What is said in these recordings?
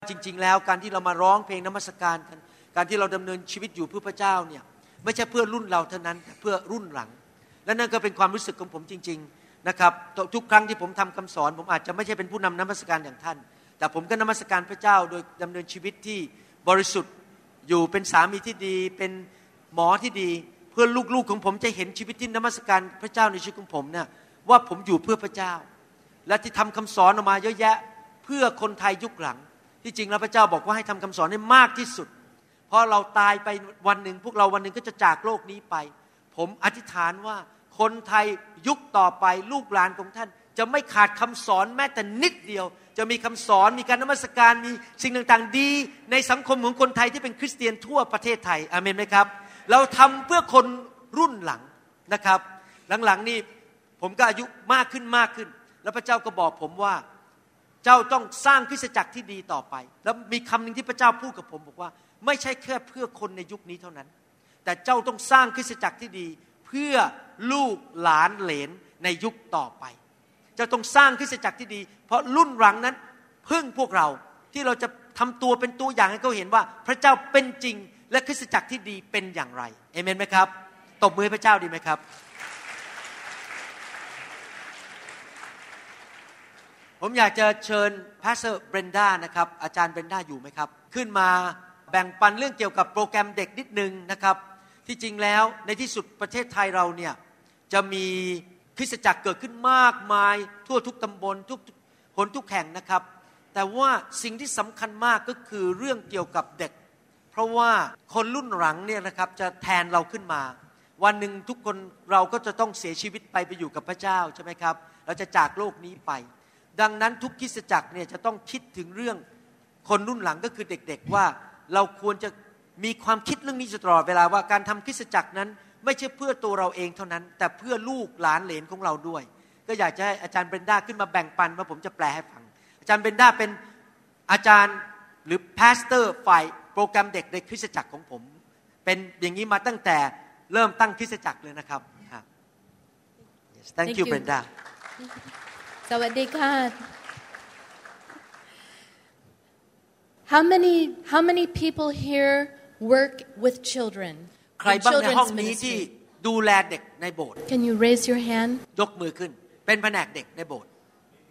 จริงๆแล้วการที่เรามาร้องเพลงนมัสการกันการที่เราดำเนินชีวิตอยู่เพื่อพระเจ้าเนี่ยไม่ใช่เพื่อรุ่นเราเท่านั้นแต่เพื่อรุ่นหลังและนั่นก็เป็นความรู้สึกของผมจริงๆนะครับทุกครั้งที่ผมทำคำสอนผมอาจจะไม่ใช่เป็นผู้นำนมัสการอย่างท่านแต่ผมก็นมัสการพระเจ้าโดยดำเนินชีวิตที่บริสุทธิ์อยู่เป็นสามีที่ดีเป็นหมอที่ดีเพื่อลูกๆของผมจะเห็นชีวิตที่นมัสการพระเจ้าในชีวิตของผมเนี่ยว่าผมอยู่เพื่อพระเจ้าและที่ทำคำสอนออกมาเยอะแยะเพื่อคนไทยยุคหลังที่จริงแล้วพระเจ้าบอกว่าให้ทำคำสอนให้มากที่สุดเพราะเราตายไปวันหนึ่งพวกเราวันหนึ่งก็จะจากโลกนี้ไปผมอธิษฐานว่าคนไทยยุคต่อไปลูกหลานของท่านจะไม่ขาดคำสอนแม้แต่นิดเดียวจะมีคำสอนมีการนมัสการมีสิ่งต่างๆดีในสังคมของคนไทยที่เป็นคริสเตียนทั่วประเทศไทยอาเมนไหมครับเราทำเพื่อคนรุ่นหลังนะครับหลังๆนี่ผมก็อายุมากขึ้นแล้วพระเจ้าก็บอกผมว่าเจ้าต้องสร้างคริสตจักรที่ดีต่อไปแล้วมีคำหนึ่งที่พระเจ้าพูดกับผมบอกว่าไม่ใช่แค่เพื่อคนในยุคนี้เท่านั้นแต่เจ้าต้องสร้างคริสตจักรที่ดีเพื่อลูกหลานเหลนในยุคต่อไปเจ้าต้องสร้างคริสตจักรที่ดีเพราะรุ่นหลังนั้นพึ่งพวกเราที่เราจะทำตัวเป็นตัวอย่างให้เขาเห็นว่าพระเจ้าเป็นจริงและคริสตจักรที่ดีเป็นอย่างไรเอเมนไหมครับตบมือให้พระเจ้าดีไหมครับผมอยากจะเชิญพาสเตอร์เบรนด้านะครับอาจารย์เบรนด้าอยู่ไหมครับขึ้นมาแบ่งปันเรื่องเกี่ยวกับโปรแกรมเด็กนิดนึงนะครับที่จริงแล้วในที่สุดประเทศไทยเราเนี่ยจะมีคริสตจักรเกิดขึ้นมากมายทั่วทุกตำบลทุกหนทุกแห่งนะครับแต่ว่าสิ่งที่สำคัญมากก็คือเรื่องเกี่ยวกับเด็กเพราะว่าคนรุ่นหลังเนี่ยนะครับจะแทนเราขึ้นมาวันหนึ่งทุกคนเราก็จะต้องเสียชีวิตไปอยู่กับพระเจ้าใช่ไหมครับเราจะจากโลกนี้ไปดังนั้นทุกคริสตจักรเนี่ยจะต้องคิดถึงเรื่องคนรุ่นหลังก็คือเด็กๆว่าเราควรจะมีความคิดเรื่องนี้ตลอดเวลาว่าการทำคริสตจักรนั้นไม่ใช่เพื่อตัวเราเองเท่านั้นแต่เพื่อลูกหลานเหลนของเราด้วยก็อยากจะให้อาจารย์เบรนด้าขึ้นมาแบ่งปันว่าผมจะแปลให้ฟังอาจารย์เบรนด้าเป็นอาจารย์หรือพาสเตอร์ฝ่ายโปรแกรมเด็กในคริสตจักรของผมเป็นอย่างนี้มาตั้งแต่เริ่มตั้งคริสตจักรเลยนะครับ yes, Thank you Brenda สวัสดีค่ะ How many people here work with children ใครบ้างในห้องนี้ที่ดูแลเด็กในโบสถ์ Can you raise your hand ยกมือขึ้นเป็นแผนกเด็กในโบสถ์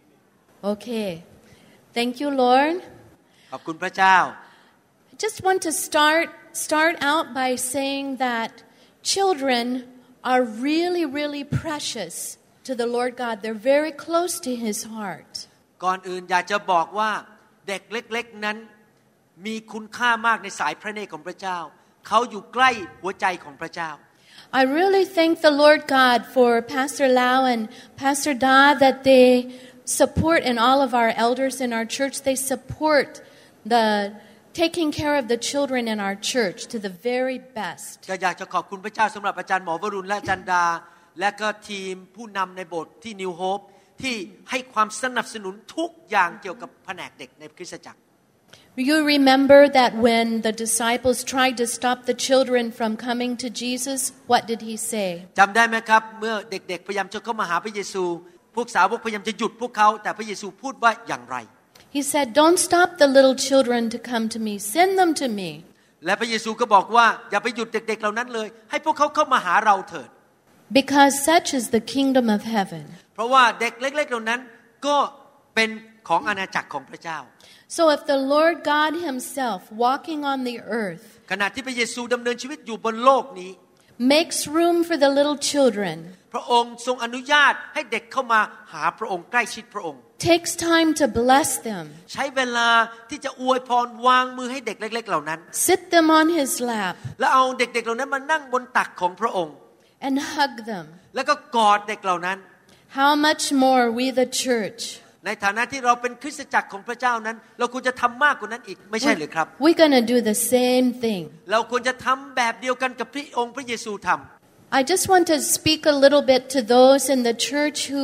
Okay Thank you Lord ขอบคุณพระเจ้า I just want to start out by saying that children are really precious to the Lord God. They're very close to His heart. ก่อนอื่นอยากจะบอกว่าเด็กเล็กๆนั้นมีคุณค่ามากในสายพระเนตรของพระเจ้าเขาอยู่ใกล้หัวใจของพระเจ้า I really thank the Lord God for Pastor Lau and Pastor Da that they support and all of our elders in our church they support the taking care of the children in our church to the very best. อยากจะขอบคุณพระเจ้าสำหรับอาจารย์หมอวรุณและอาจารย์ดาและก็ทีมผู้นำในโบสถ์ที่ New Hope ที่ให้ความสนับสนุนทุกอย่างเกี่ยวกับแผนกเด็กในคริสตจักร You remember that when the disciples tried to stop the children from coming to Jesus, what did he say? จำได้ไหมครับเมื่อเด็กๆพยายามจะเข้ามาหาพระเยซูพวกสาวกพยายามจะหยุดพวกเขาแต่พระเยซูพูดว่าอย่างไร He said, "Don't stop the little children to come to me. Send them to me." และพระเยซูก็บอกว่าอย่าไปหยุดเด็กๆเหล่านั้นเลยให้พวกเขาเข้ามาหาเราเถิด Because such is the kingdom of heaven. เพราะว่าเด็กเล็กๆเหล่านั้นก็เป็นของอาณาจักรของพระเจ้า So if the Lord God himself walking on the earth ขณะที่พระเยซูดำเนินชีวิตอยู่บนโลกนี้ makes room for the little children พระองค์ทรงอนุญาตให้เด็กเข้ามาหาพระองค์ใกล้ชิดพระองค์ takes time to bless them ใช้เวลาที่จะอวยพรวางมือให้เด็กเล็กๆเหล่านั้น sit them on his lap แล้วเอาเด็กๆเหล่านั้นมานั่งบนตักของพระองค์ and hug them แล้วก็กอดเด็กเหล่านั้น How much more we the church ในฐานะที่เราเป็นคริสตจักรของพระเจ้านั้นเราควรจะทำมากกว่านั้นอีกไม่ใช่หรือครับ We're going to do the same thing เราควรจะทำแบบเดียวกันกับที่องค์พระเยซูทำ I just want to speak a little bit to those in the church who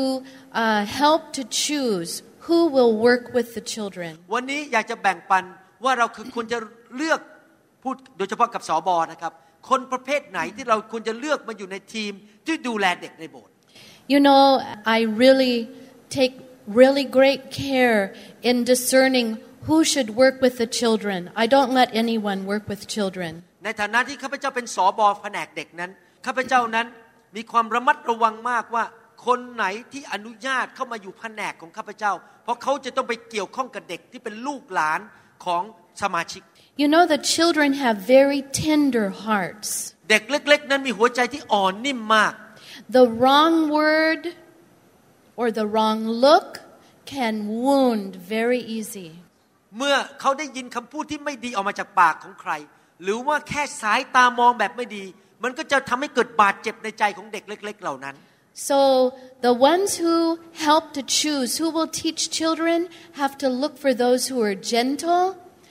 help to choose who will work with the children วันนี้อยากจะแบ่งปันว่าเราควรจะเลือกพูดโดยเฉพาะกับสบนะครับคนประเภทไหนที่เราควรจะเลือกมาอยู่ในทีมที่ดูแลเด็กในโบสถ์ You know I really take really great care in discerning who should work with the children. I don't let anyone work with children. ในฐานะที่ข้าพเจ้าเป็นสบแผนกเด็กนั้นข้าพเจ้านั้นมีความระมัดระวังมากว่าคนไหนที่อนุญาตเข้ามาอยู่แผนกของข้าพเจ้าเพราะเขาจะต้องไปเกี่ยวข้องกับเด็กที่เป็นลูกหลานของสมาชิก You know the children have very tender hearts. เด็กเล็กๆนั้นมีหัวใจที่อ่อนนิ่มมาก The wrong word or the wrong look can wound very easy. เมื่อเขาได้ยินคำพูดที่ไม่ดีออกมาจากปากของใครหรือว่าแค่สายตามองแบบไม่ดีมันก็จะทำให้เกิดบาดเจ็บในใจของเด็กเล็กๆเหล่านั้น So the ones who help to choose who will teach children have to look for those who are gentle,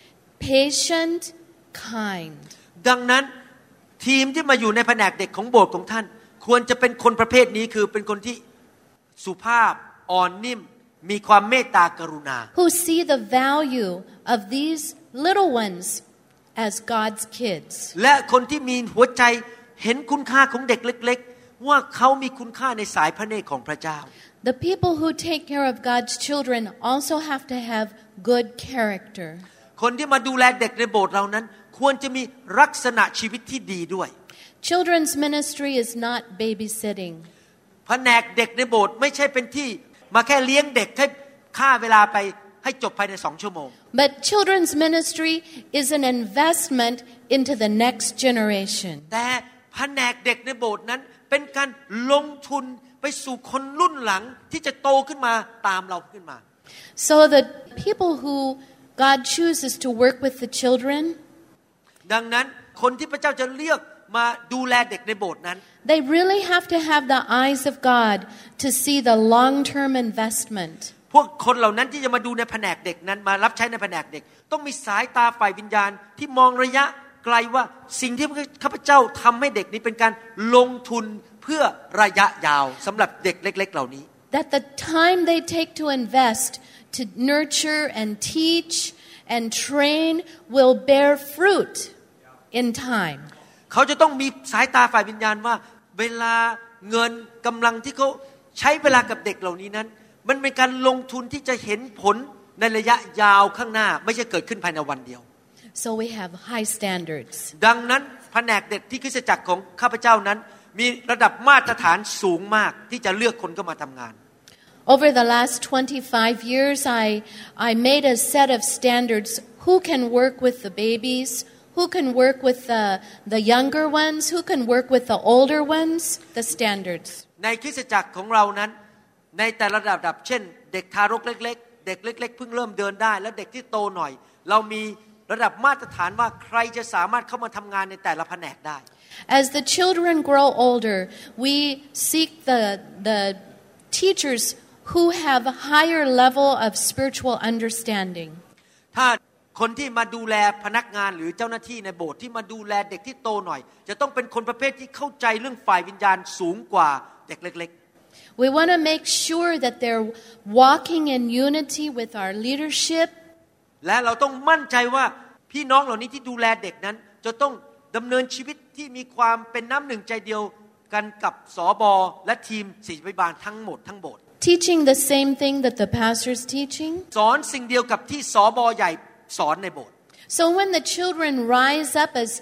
patient, kind. ดังนั้นทีมที่มาอยู่ในแผนกเด็กของโบสถ์ของท่านควรจะเป็นคนประเภทนี้คือเป็นคนที่สุภาพอ่อนนิ่มมีความเมตตากรุณา Who see the value of these little ones as God's kids. และคนที่มีหัวใจเห็นคุณค่าของเด็กเล็กๆว่าเขามีคุณค่าในสายพระเนตรของพระเจ้า The people who take care of God's children also have to have good character. คนที่มาดูแลเด็กในโบสถ์เรานั้นควรจะมีลักษณะชีวิตที่ดีด้วย Children's ministry is not babysitting. แผนกเด็กในโบสถ์ไม่ใช่เป็นที่มาแค่เลี้ยงเด็กให้ฆ่าเวลาไปให้จบภายใน2 ชั่วโมง But children's ministry is an investment into the next generation. แต่แผนกเด็กในโบสถ์นั้นเป็นการลงทุนไปสู่คนรุ่นหลังที่จะโตขึ้นมาตามเราขึ้นมา So the people who God chooses to work with the children, ดังนั้นคนที่พระเจ้าจะเลือกมาดูแลเด็กในโบสถ์นั้น they really have to have the eyes of God to see the long-term investment. พวกคนเหล่านั้นที่จะมาดูในแผนกเด็กนั้นมารับใช้ในแผนกเด็กต้องมีสายตาฝ่ายวิญญาณที่มองระยะไกลว่าสิ่งที่ข้าพเจ้าทำให้เด็กนี้เป็นการลงทุนเพื่อระยะยาวสำหรับเด็กเล็กๆเหล่านี้ That the time they take to invest to nurture and teach and train will bear fruit in time. เขาจะต้องมีสายตาฝ่ายวิญญาณว่าเวลาเงินกำลังที่เขาใช้เวลากับเด็กเหล่านี้นั้นมันเป็นการลงทุนที่จะเห็นผลในระยะยาวข้างหน้าไม่ใช่เกิดขึ้นภายในวันเดียว So we have high standards. ดังนั้นแผนกเด็กที่คริสตจักรของข้าพเจ้านั้นมีระดับมาตรฐานสูงมากที่จะเลือกคนเข้ามาทำงาน Over the last 25 years, I made a set of standards. Who can work with the babies? Who can work with the younger ones? Who can work with the older ones? The standards. ในคริสตจักรของเรานั้นในแต่ละระดับเช่นเด็กทารกเล็กๆเด็กเล็กๆเพิ่งเริ่มเดินได้และเด็กที่โตหน่อยเรามีระดับมาตรฐานว่าใครจะสามารถเข้ามาทำงานในแต่ละแผนกได้ As the children grow older, we seek the teachers who have a higher level of spiritual understanding. ถ้าคนที่มาดูแลพนักงานหรือเจ้าหน้าที่ในโบสถ์ที่มาดูแลเด็กที่โตหน่อยจะต้องเป็นคนประเภทที่เข้าใจเรื่องฝ่ายวิญญาณสูงกว่าเด็กเล็กๆ We want to make sure that they're walking in unity with our leadership. และเราต้องมั่นใจว่าพี่น้องเหล่านี้ที่ดูแลเด็กนั้นจะต้องดำเนินชีวิตที่มีความเป็นน้ำหนึ่งใจเดียวกันกับสบและทีมศิษยาภิบาลทั้งหมดทั้งโบสถ์ Teaching the same thing that the pastor's teaching. สอนสิ่งเดียวกับที่สบใหญ่สอนในโบสถ์ So when the children rise up as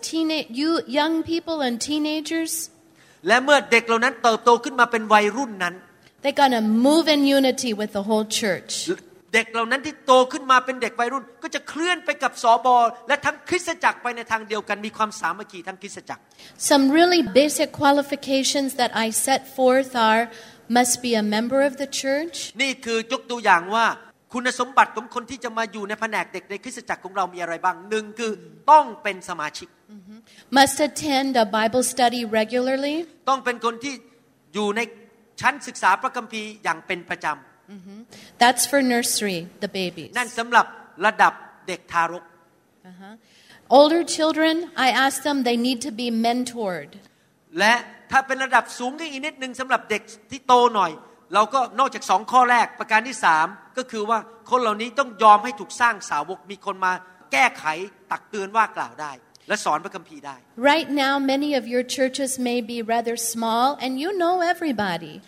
young people and teenagers, และเมื่อเด็กเหล่านั้นเติบโตขึ้นมาเป็นวัยรุ่นนั้น they're going to move in unity with the whole church. เด็กเหล่านั้นที่โตขึ้นมาเป็นเด็กวัยรุ่นก็จะเคลื่อนไปกับสบและทั้งคริสตจักรไปในทางเดียวกันมีความสามัคคีทั้งคริสตจักร Some really basic qualifications that I set forth are must be a member of the church. นี่คือยกตัวอย่างว่าคุณสมบัติของคนที่จะมาอยู่ในแผนกเด็กในคริสตจักรของเรามีอะไรบ้างหนึ่งคือต้องเป็นสมาชิก Must attend a Bible study regularly. ต้องเป็นคนที่อยู่ในชั้นศึกษาพระคัมภีร์อย่างเป็นประจำ That's for nursery, the babies. นั่นสำหรับระดับเด็กทารก Older children, I ask them they need to be mentored. และถ้าเป็นระดับสูงขึ้นอีกนิดนึงสำหรับเด็กที่โตหน่อยเราก็นอกจาก2ข้อแรกประการที่3ก็คือว่าคนเหล่านี้ต้องยอมให้ถูกสร้างสาวกมีคนมาแก้ไขตักเตือนว่ากล่าวได้และสอนพระคัมภีร์ได้ Right now many of your churches may be rather small and you know everybody.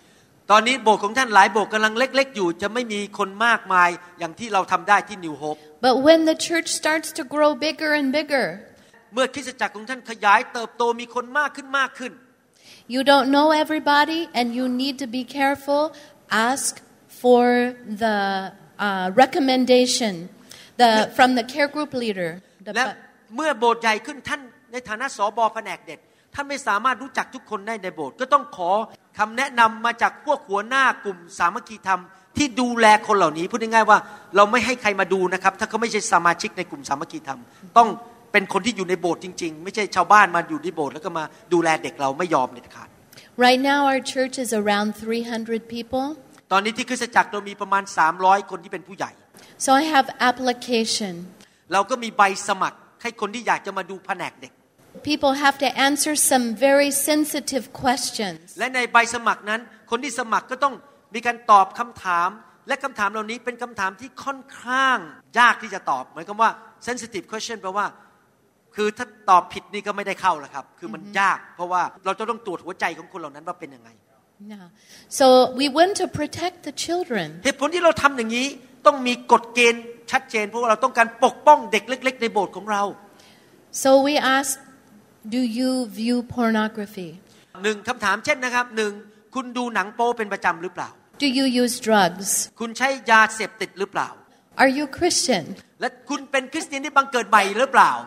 ตอนนี้โบสถ์ของท่านหลายโบสถ์กำลังเล็กๆอยู่จะไม่มีคนมากมายอย่างที่เราทำได้ที่ New Hope But when the church starts to grow bigger and bigger เมื่อคริสตจักรของท่านขยายเติบโตมีคนมากขึ้น you don't know everybody and you need to be careful ask for the recommendation from the care group leader และเมื่อโบสถ์ใหญ่ขึ้นท่านในฐานะสบแผนกเด็กท่านไม่สามารถรู้จักทุกคนได้ในโบสถ์ก็ต้องขอคำแนะนำมาจากพวกหัวหน้ากลุ่มสามัคคีธรรมที่ดูแลคนเหล่านี้พูดง่ายๆว่าเราไม่ให้ใครมาดูนะครับถ้าเขาไม่ใช่สมาชิกในกลุ่มสามัคคีธรรมต้องเป็นคนที่อยู่ในโบสถ์จริงๆไม่ใช่ชาวบ้านมาอยู่ในโบสถ์แล้วก็มาดูแลเด็กเราไม่ยอมเด็ดขาด Right now our church is around 300 people ตอนนี้ที่คริสตจักรเรามีประมาณ300คนที่เป็นผู้ใหญ่ So I have application เราก็มีใบสมัครให้คนที่อยากจะมาดูแผนกเด็ก People have to answer some very sensitive questions และในใบสมัครนั้นคนที่สมัครก็ต้องมีการตอบคำถามและคำถามเหล่านี้เป็นคำถามที่ค่อนข้างยากที่จะตอบหมายความว่า sensitive question แปลว่าคือถ้าตอบผิดนี่ก็ไม่ได้เข้าแล้วครับคือมันยากเพราะว่าเราจะต้องตรวจหัวใจของคนเหล่านั้นว่าเป็นยังไง So we want to protect the children เหตุผลที่เราทำอย่างนี้ต้องมีกฎเกณฑ์ชัดเจนเพราะว่าเราต้องการปกป้องเด็กเล็กๆในโบสถ์ของเรา So we ask do you view pornography หนึ่งคำถามเช่นนะครับหนึ่งคุณดูหนังโป๊เป็นประจำหรือเปล่า Do you use drugs คุณใช้ยาเสพติดหรือเปล่า Are you Christian และคุณเป็นคริสเตียนที่บังเกิดใหม่หรือเปล่า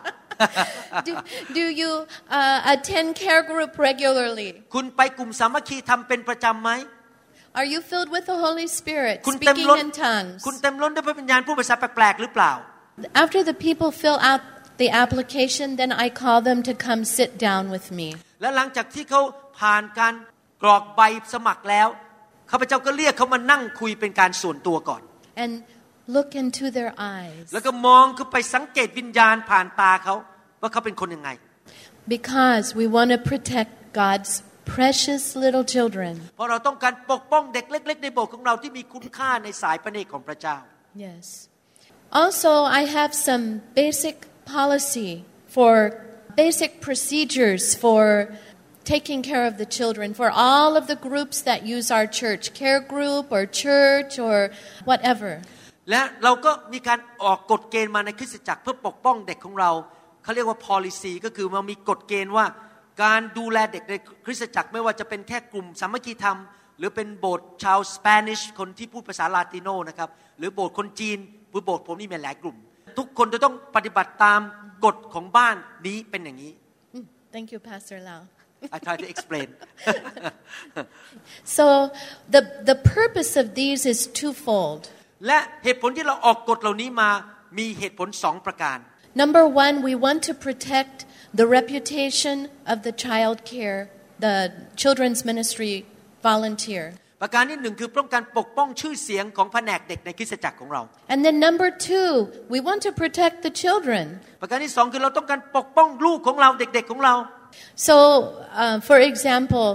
do you attend care group regularly คุณไปกลุ่มสามัคคีธรรมเป็นประจำไหม Are you filled with the Holy Spirit คุณเต็ม speaking ล้น in tongues คุณเต็มล้นด้วยพระวิญญาณพูดภาษาแปลกๆหรือเปล่า After the people fill out the application then I call them to come sit down with me และหลังจากที่เขาผ่านการกรอกใบสมัครแล้วข้าพเจ้าก็เรียกเขามานั่งคุยเป็นการส่วนตัวก่อน and look into their eyes แล้วก็มองเข้าไปสังเกตวิญญาณผ่านตาเขาว่าเขาเป็นคนยังไง Because we want to protect God's precious little children เพราะเราต้องการปกป้องเด็กเล็กๆในโบสถ์ของเราที่มีคุณค่าในสายพระเนตรของพระเจ้า Yes Also I have some basic policy for basic procedures for taking care of the children for all of the groups that use our church care group or church or whatever และเราก็มีการออกกฎเกณฑ์มาในคริสตจักรเพื่อปกป้องเด็กของเราเขาเรียกว่า policy ก็คือมันมีกฎเกณฑ์ว่าการดูแลเด็กในคริสตจักรไม่ว่าจะเป็นแค่กลุ่มสามัคคีธรรมหรือเป็นโบสถ์ชาวสเปนิชคนที่พูดภาษาลาติโนนะครับหรือโบสถ์คนจีนหรือโบสถ์ผมนี่มีหลายกลุ่มทุกคนจะต้องปฏิบัติตามกฎของบ้านนี้เป็นอย่างนี้ Thank you Pastor Lau I try to explain So the purpose of these is twofold และเหตุผลที่เราออกกฎเหล่านี้มามีเหตุผล2ประการ Number one we want to protect the reputation of the child care the children's ministry volunteer ประการที่1คือป้องกันปกป้องชื่อเสียงของแผนกเด็กในคริสตจักรของเรา And then number two we want to protect the children ประการที่2คือเราต้องการปกป้องลูกของเราเด็กๆของเรา So for example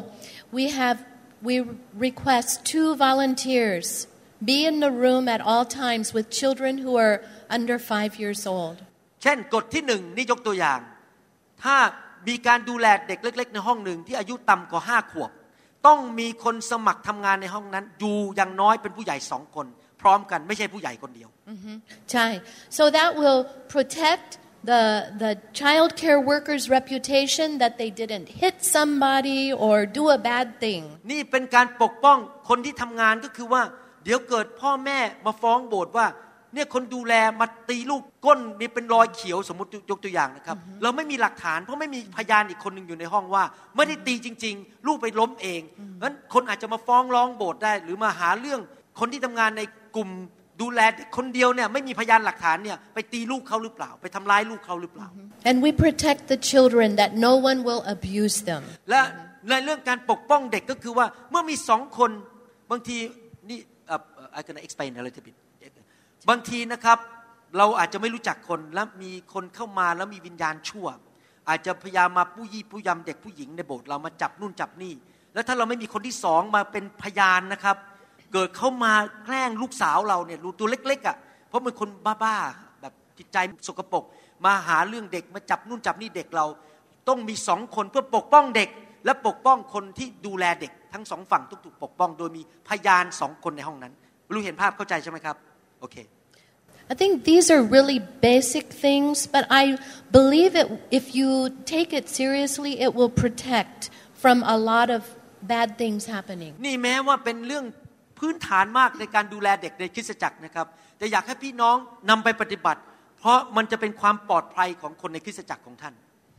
we request 2 volunteers be in the room at all times with children who are under 5 years old เช่นกฎที่1นี่ยกตัวอย่างถ้ามีการดูแลเด็กเล็กๆในห้องหนึ่งที่อายุต่ำกว่า5ขวบต้องมีคนสมัครทำงานในห้องนั้นอยู่อย่างน้อยเป็นผู้ใหญ่2คนพร้อมกันไม่ใช่ผู้ใหญ่คนเดียวใช่ So that will protect the child care workers reputation that they didn't hit somebody or do a bad thing นี่เป็นการปกป้องคนที่ทำงานก็คือว่าเดี๋ยวเกิดพ่อแม่มาฟ้องโบสถ์ว่าเนี่ยคนดูแลมาตีลูกก้นมีเป็นรอยเขียวสมมติยกตัวอย่างนะครับเราไม่มีหลักฐานเพราะไม่มีพยานอีกคนนึงอยู่ในห้องว่าไม่ได้ตีจริงๆลูกไปล้มเองงั้นคนอาจจะมาฟ้องร้องโบสถ์ได้หรือมาหาเรื่องคนที่ทำงานในกลุ่มดูแลคนเดียวเนี่ยไม่มีพยานหลักฐานเนี่ยไปตีลูกเขาหรือเปล่าไปทำร้ายลูกเขาหรือเปล่า And we protect the children that no one will abuse them และในเรื่องการปกป้องเด็กก็คือว่าเมื่อมี2คนบางทีนี่I can explain a little bit บางทีนะครับเราอาจจะไม่รู้จักคนแล้วมีคนเข้ามาแล้วมีวิญญาณชั่วอาจจะพยายามมาปู้ยี่ปู้ยำเด็กผู้หญิงในโบสถ์เรามาจับนู่นจับนี่แล้วถ้าเราไม่มีคนที่2มาเป็นพยานนะครับเกิดเข้ามาแกล้งลูกสาวเราเนี่ยลูกตัวเล็กๆอ่ะเพราะเป็นคนบ้าๆแบบจิตใจสกปรกมาหาเรื่องเด็กมาจับนู่นจับนี่เด็กเราต้องมี2คนเพื่อปกป้องเด็กและปกป้องคนที่ดูแลเด็กทั้งสองฝั่งถูกปกป้องโดยมีพยาน2คนในห้องนั้นรู้เห็นภาพเข้าใจใช่ไหมครับโอเค I think these are really basic things, but I believe it, if you take it seriously, it will protect from a lot of bad things happening. นี่แม้ว่าเป็นเรื่องพื้นฐานมากในการดูแลเด็กในคริสตจักรนะครับแต่อยากให้พี่น้องนำไปปฏิบัติเพราะมันจะเป็นความปลอดภัยของคนในคริสตจักรของท่าน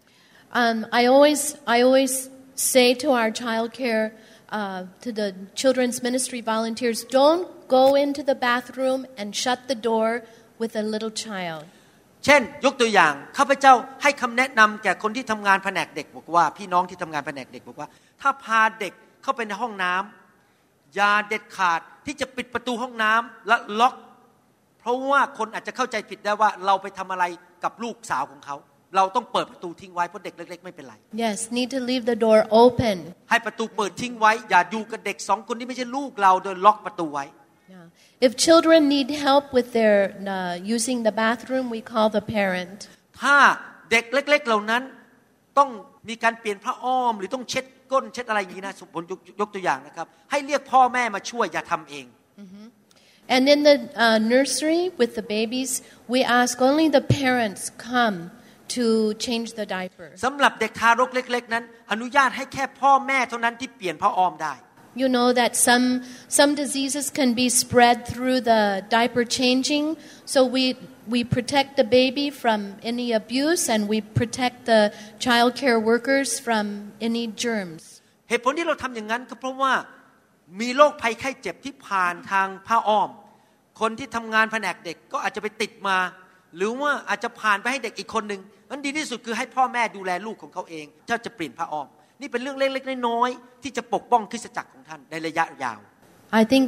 I always say to our childcare, to the children's ministry volunteers, don't go into the bathroom and shut the door with a little child. เช่นยกตัวอย่างข้าพเจ้าให้คำแนะนำแก่คนที่ทำงานแผนกเด็กบอกว่าพี่น้องที่ทำงานแผนกเด็กบอกว่าถ้าพาเด็กเข้าไปในห้องน้ำอย่าเด็ดขาดที่จะปิดประตูห้องน้ำและล็อกเพราะว่าคนอาจจะเข้าใจผิดได้ว่าเราไปทำอะไรกับลูกสาวของเขาเราต้องเปิดประตูทิ้งไว้เพราะเด็กเล็กๆไม่เป็นไร Yes, need to leave the door open. ให้ประตูเปิดทิ้งไว้อย่าอยู่กับเด็ก2คนที่ไม่ใช่ลูกเราโดยล็อกประตูไว้ Yeah. If children need help with their using the bathroom, we call the parent. ถ้าเด็กเล็กๆเหล่านั้นต้องมีการเปลี่ยนผ้าอ้อมหรือต้องเช็ดก้นเช็ดอะไรอย่างนี้นะผมยกตัวอย่างนะครับให้เรียกพ่อแม่มาช่วยอย่าทำเอง And in the nursery with the babies, we ask only the parents come to change the diaper. สำหรับเด็กทารกเล็กๆนั้นอนุญาตให้แค่พ่อแม่เท่านั้นที่เปลี่ยนผ้าอ้อมได้ You know that some diseases can be spread through the diaper changing, so we protect the baby from any abuse and we protect the child care workers from any germs. เหตุผลที่เราทำอย่างนั้นก็เพราะว่ามีโรคภัยไข้เจ็บที่ผ่านทางผ้าอ้อมคนที่ทำงานแผนกเด็กก็อาจจะไปติดมาหรือว่าอาจจะผ่านไปให้เด็กอีกคนนึงนั้นดีที่สุดคือให้พ่อแม่ดูแลลูกของเขาเองถ้าจะเปลี่ยนผ้าอ้อมนี่เป็นเรื่องเล็กๆน้อยๆที่จะปกป้องคริสตจักรของท่านในระยะยาว I think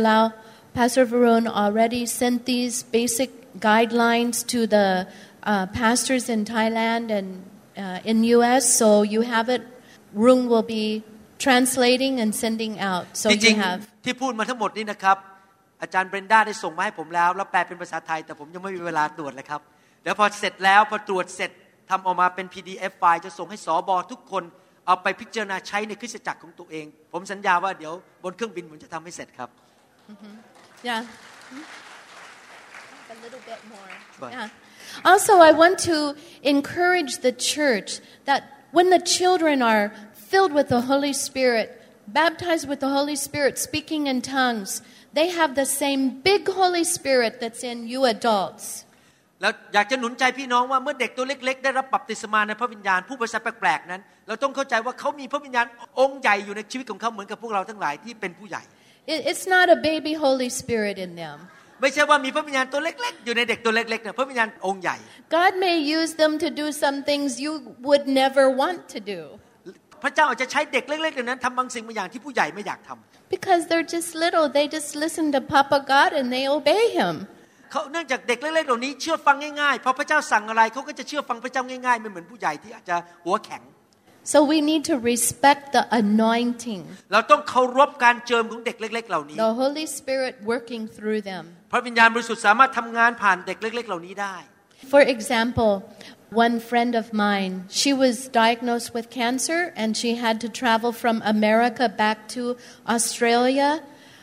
Pastor Varun already sent these basic guidelines to the pastors in Thailand and in US, so you have it. Rung will be translating and sending out. So you have. ที่พูดมาทั้งหมดนี้นะครับอาจารย์เบรนด้าได้ส่งมาให้ผมแล้วแปลเป็นภาษาไทยแต่ผมยังไม่มีเวลาตรวจเลยครับเดี๋ยวพอเสร็จแล้วพอตรวจเสร็จทำออกมาเป็น PDF ไฟล์จะส่งให้สบทุกคนเอาไปพิจารณาใช้ในคริสตจักรของตัวเองผมสัญญาว่าเดี๋ยวบนเครื่องบินผมจะทำให้เสร็จครับ Yeah. A little bit more. Yeah. Also, I want to encourage the church that when the children are filled with the Holy Spirit, baptized with the Holy Spirit, speaking in tongues, they have the same big Holy Spirit that's in you adults. แล้วอยากจะหนุนใจพี่น้องว่าเมื่อเด็กตัวเล็กๆได้รับบัพติศมาในพระวิญญาณผู้ภาษาแปลกๆนั้นเราต้องเข้าใจว่าเขามีพระวิญญาณองค์ใหญ่อยู่ในชีวิตของเขาเหมือนกับพวกเราทั้งหลายที่เป็นผู้ใหญ่ It's not a baby Holy Spirit in them. ไม่ใช่ว่ามีพระวิญญาณตัวเล็กๆอยู่ในเด็กตัวเล็กๆนะพระวิญญาณองค์ใหญ่ God may use them to do some things you would never want to do. พระเจ้าอาจจะใช้เด็กเล็กๆเหล่านั้นทำบางสิ่งบางอย่างที่ผู้ใหญ่ไม่อยากทำ Because they're just little, they just listen to Papa God and they obey Him. เขาเนื่องจากเด็กเล็กๆเหล่านี้เชื่อฟังง่ายๆพอพระเจ้าสั่งอะไรเขาก็จะเชื่อฟังพระเจ้าง่ายๆไม่เหมือนผู้ใหญ่ที่อาจจะหัวแข็ง So we need to respect the anointing. เราต้องเคารพการเจิมของเด็กเล็กๆเหล่านี้ The Holy Spirit working through them. พระวิญญาณบริสุทธิ์สามารถทำงานผ่านเด็กเล็กๆเหล่านี้ได้ For example, one friend of mine, she was diagnosed with cancer and she had to travel from America back to Australia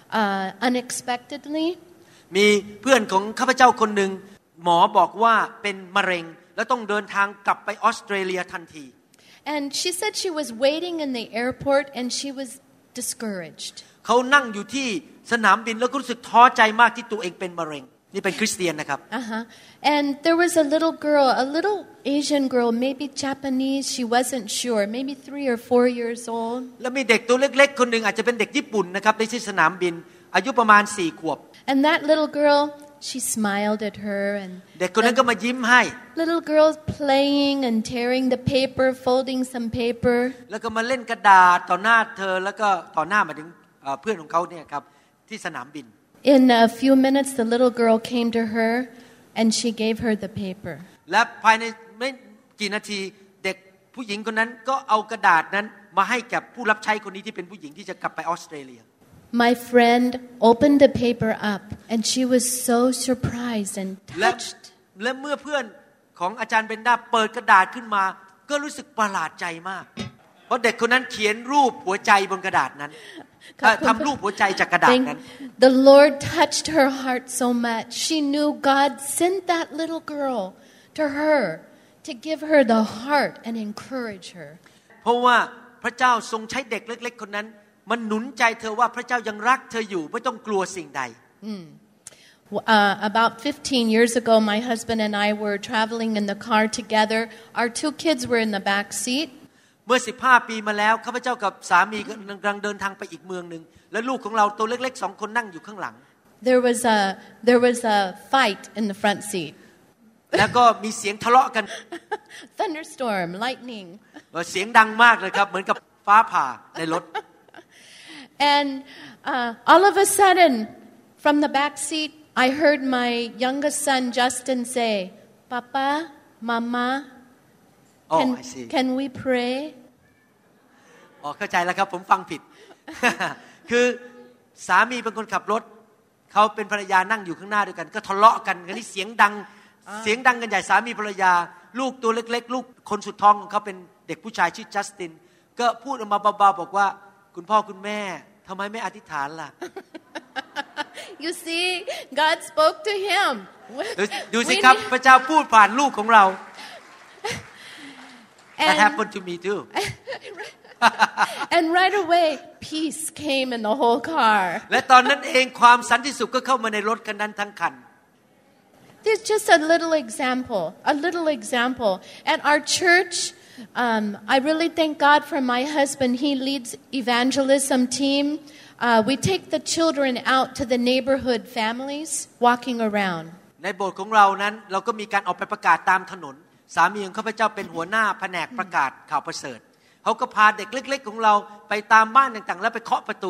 unexpectedly. มีเพื่อนของข้าพเจ้าคนหนึ่งหมอบอกว่าเป็นมะเร็งแล้วต้องเดินทางกลับไปออสเตรเลียทันที And she said she was waiting in the airport and she was discouraged. เขานั่งอยู่ที่สนามบินแล้วก็รู้สึกท้อใจมากที่ตัวเองเป็นมะเร็งนี่เป็นคริสเตียนนะครับ And there was a little girl, a little Asian girl, maybe Japanese, she wasn't sure, maybe 3 or 4 years old. แล้วมีเด็กตัวเล็กๆคนหนึ่งอาจจะเป็นเด็กญี่ปุ่นนะครับในที่สนามบินอายุประมาณ4 ขวบ And that little girl, she smiled at her and เด็กคนนั้นก็มายิ้มให้ little girl playing and tearing the paper, folding some paper. แล้วก็มาเล่นกระดาษต่อหน้าเธอแล้วก็ต่อหน้ามาถึงเพื่อนของเขาเนี่ยครับที่สนามบิน In a few minutes the little girl came to her and she gave her the paper. และภายในไม่กี่นาทีเด็กผู้หญิงคนนั้นก็เอากระดาษนั้นมาให้กับผู้รับใช้คนนี้ที่เป็นผู้หญิงที่จะกลับไปออสเตรเลีย My friend opened the paper up and she was so surprised and touched. และเมื่อเพื่อนของอาจารย์เบนดาเปิดกระดาษขึ้นมาก็รู้สึกประหลาดใจมากเพราะเด็กคนนั้นเขียนรูปหัวใจบนกระดาษนั้นทำรูปหัวใจจากกระดาษนั้น The Lord touched her heart so much. She knew God sent that little girl to her to give her the heart and encourage her. เพราะว่าพระเจ้าทรงใช้เด็กเล็กๆคนนั้นมันหนุนใจเธอว่าพระเจ้ายังรักเธออยู่ไม่ต้องกลัวสิ่งใด About 15 years ago, my husband and I were traveling in the car together. Our 2 kids were in the back seat. เมื่อ15 ปีมาแล้วข้าพเจ้ากับสามีกำลังเดินทางไปอีกเมืองนึงและลูกของเราตัวเล็กๆ2 คนนั่งอยู่ข้างหลัง There was a fight in the front seat. แล้วก็มีเสียงทะเลาะกัน Thunderstorm, lightning. เสียงดังมากเลยครับเหมือนกับฟ้าผ่าในรถ And all of a sudden, from the back seat, I heard my youngest son Justin say, "Papa, Mama, can we pray?" อ๋อเข้าใจแล้วครับผมฟังผิด คือสามีเป็นคนขับรถเขาเป็นภรรยานั่งอยู่ข้างหน้าด้วยกันก็ทะเลาะกันกันนี่เสียงดังกันใหญ่สามีภรรยาลูกตัวเล็กๆลูกคนสุดท้องของเขาเป็นเด็กผู้ชายชื่อจัสตินก็พูดออกมาเบาๆบอกว่าคุณพ่อคุณแม่ทำไมไม่อธิษฐานล่ะ You see, God spoke to him. ดูสิครับพระเจ้าพูดผ่านลูกของเรา That happened to me too. And right away, peace came in the whole car. และตอนนั้นเองความสันติสุขก็เข้ามาในรถคันนั้นทั้งคัน There's just a little example. At our church, I really thank God for my husband. He leads evangelism team. We take the children out to the neighborhood families, walking around. ในโบสถ์ของเรานั้นเราก็มีการออกไปประกาศตามถนนสามีของข้าพเจ้าเป็นหัวหน้าแผนกประกาศข่าวประเสริฐเขาก็พาเด็กเล็กๆของเราไปตามบ้านต่างๆแล้วไปเคาะประตู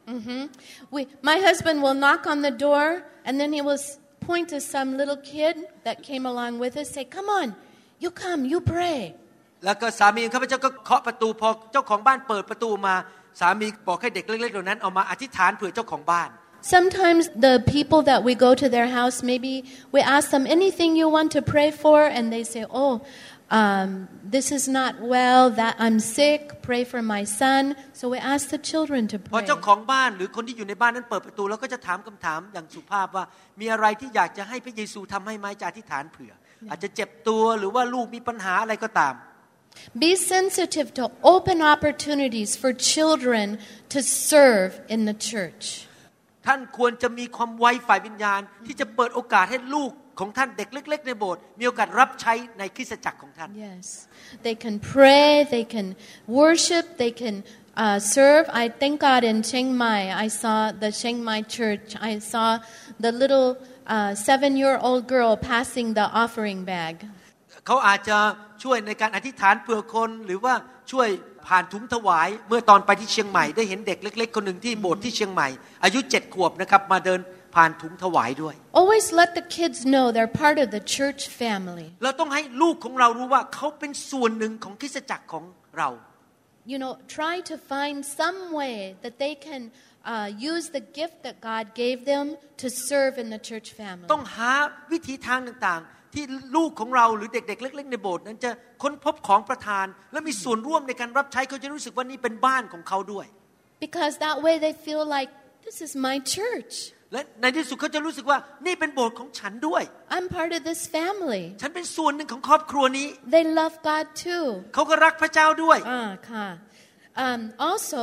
My husband will knock on the door and then he will point to some little kid that came along with us, say, "Come on, you come, you pray." แล้วก็สามีของข้าพเจ้าก็เคาะประตูพอเจ้าของบ้านเปิดประตูมาสามีบอกให้เด็กเล็กๆเหล่านั้นเอามาอธิษฐานเผื่อเจ้าของบ้าน Sometimes the people that we go to their house, maybe we ask them anything you want to pray for, and they say, "Oh, this is not well. That I'm sick. Pray for my son." So we ask the children to pray. พอเจ้าของบ้านหรือคนที่อยู่ในบ้านนั้นเปิดประตูแล้วก็จะถามคำถามอย่างสุภาพว่ามีอะไรที่อยากจะให้พระเยซูทำให้ไหมจะอธิษฐานเผื่ออาจจะเจ็บตัวหรือว่าลูกมีปัญหาอะไรก็ตาม Be sensitive to open opportunities for children to serve in the church. ท่านควรจะมีความไวฝ่ายวิญญาณที่จะเปิดโอกาสให้ลูกของท่านเด็กเล็กๆในโบสถ์มีโอกาสรับใช้ในคริสตจักรของท่าน Yes, they can pray, they can worship, they can serve. I thank God in Chiang Mai. I saw the Chiang Mai church. I saw the little 7-year-old girl passing the offering bag. เขาอาจจะช่วยในการอธิษฐานเผื่อคนหรือว่าช่วยผ่านถุงถวายเมื่อตอนไปที่เชียงใหม่ได้เห็นเด็กเล็กๆคนหนึ่งที่โบสถ์ที่เชียงใหม่อายุ7 ขวบนะครับมาเดินผ่านถุงถวายด้วย Always let the kids know they're part of the church family. เราต้องให้ลูกของเรารู้ว่าเขาเป็นส่วนหนึ่งของคริสตจักรของเรา You know, try to find some way that they can use the gift that God gave them to serve in the church family. ต้องหาวิธีทางต่างๆที่ลูกของเราหรือเด็กๆเล็กๆในโบสถ์นั้นจะค้นพบของประทานและมีส่วนร่วมในการรับใช้เขาจะรู้สึกว่านี่เป็นบ้านของเขาด้วย Because that way they feel like this is my church. และในที่สุดเขาจะรู้สึกว่านี่เป็นโบสถ์ของฉันด้วย I'm part of this family. ฉันเป็นส่วนหนึ่งของครอบครัวนี้ They love God too. เขาก็รักพระเจ้าด้วยค่ะ Also,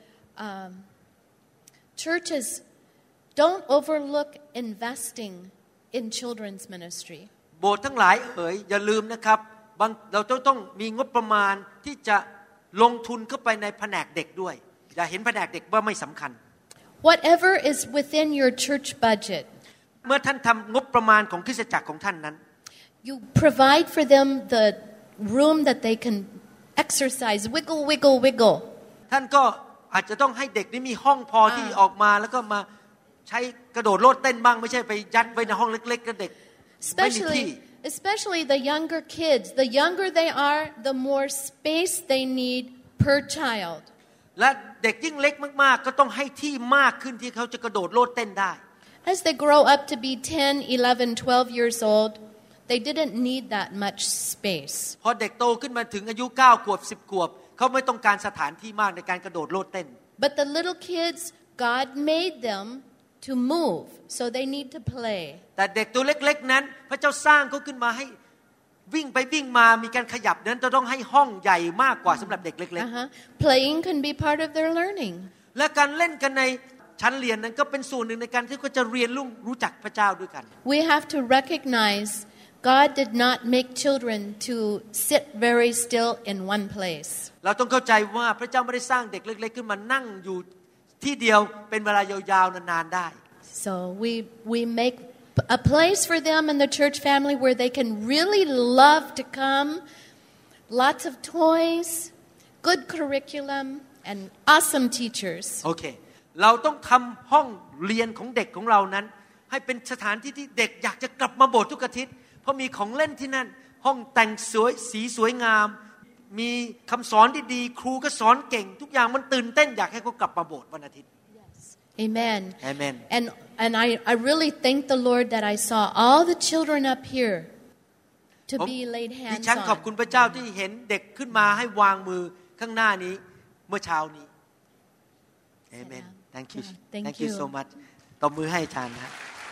churches don't overlook investing in children's ministry. โบสถ์ทั้งหลายอย่าลืมนะครับเราต้องมีงบประมาณที่จะลงทุนเข้าไปในแผนกเด็กด้วยอย่าเห็นแผนกเด็กว่าไม่สำคัญ Whatever is within your church budget. เมื่อท่านทำงบประมาณของคริสตจักรของท่านนั้น You provide for them the room that they can exercise, wiggle. ท่านก็อาจจะต้องให้เด็กนี่มีห้องพอที่ออกมาแล้วก็มาใช้กระโดดโลดเต้นบ้างไม่ใช่ไปยัดไว้ในห้องเล็กๆกับเด็ก Especially the younger kids. The younger they are, the more space they need per child. และเด็กยิ่งเล็กมากๆก็ต้องให้ที่มากขึ้นที่เขาจะกระโดดโลดเต้นได้ As they grow up to be 10, 11, 12 years old, they didn't need that much space. พอเด็กโตขึ้นมาถึงอายุ9 ขวบ 10 ขวบเขาไม่ต้องการสถานที่มากในการกระโดดโลดเต้น But the little kids, God made them to move, so they need to play. แต่เด็กตัวเล็กๆนั้นพระเจ้าสร้างเขาขึ้นมาให้วิ่งไปวิ่งมามีการขยับนั้นจะต้องให้ห้องใหญ่มากกว่าสำหรับเด็กเล็กๆ Playing can be part of their learning. และการเล่นกันในชั้นเรียนนั้นก็เป็นส่วนหนึ่งในการที่เขาจะเรียนรู้จักพระเจ้าด้วยกัน We have to recognize God did not make children to sit very still in one place. เราต้องเข้าใจว่าพระเจ้าไม่ได้สร้างเด็กเล็กๆขึ้นมานั่งอยู่ที่เดียวเป็นเวลายาวๆนานๆได้ So we make a place for them in the church family where they can really love to come, lots of toys, good curriculum, and awesome teachers. โอเคเราต้องทำห้องเรียนของเด็กของเรานั้นให้เป็นสถานที่ที่เด็กอยากจะกลับมาโบสถ์ทุกอาทิตย์เพราะมีของเล่นที่นั่นห้องแต่งสวยสีสวยงามมีคำสอนที่ดีครูก็สอนเก่งทุกอย่างมันตื่นเต้นอยากให้เขากลับมาโบสถ์วันอาทิตย์ Amen. Amen. And I really thank the Lord that I saw all the children up here to be laid hands on. ดิฉันขอบคุณพระเจ้าที่เห็นเด็กขึ้นมาให้วางมือข้างหน้านี้เมื่อเช้านี้ Amen. Thank you. Thank you so much. ตบมือให้อาจารย์นะ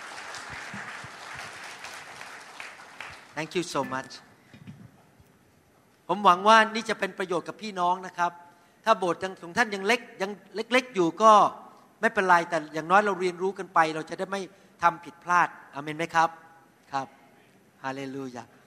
Thank you so much. ผมหวังว่านี่จะเป็นประโยชน์กับพี่น้องนะครับถ้าโบสถ์ของท่านยังเล็กอยู่ก็ไม่เป็นไรแต่อย่างน้อยเราเรียนรู้กันไปเราจะได้ไม่ทำผิดพลาดอาเมนไหมครับครับฮาเลลูยา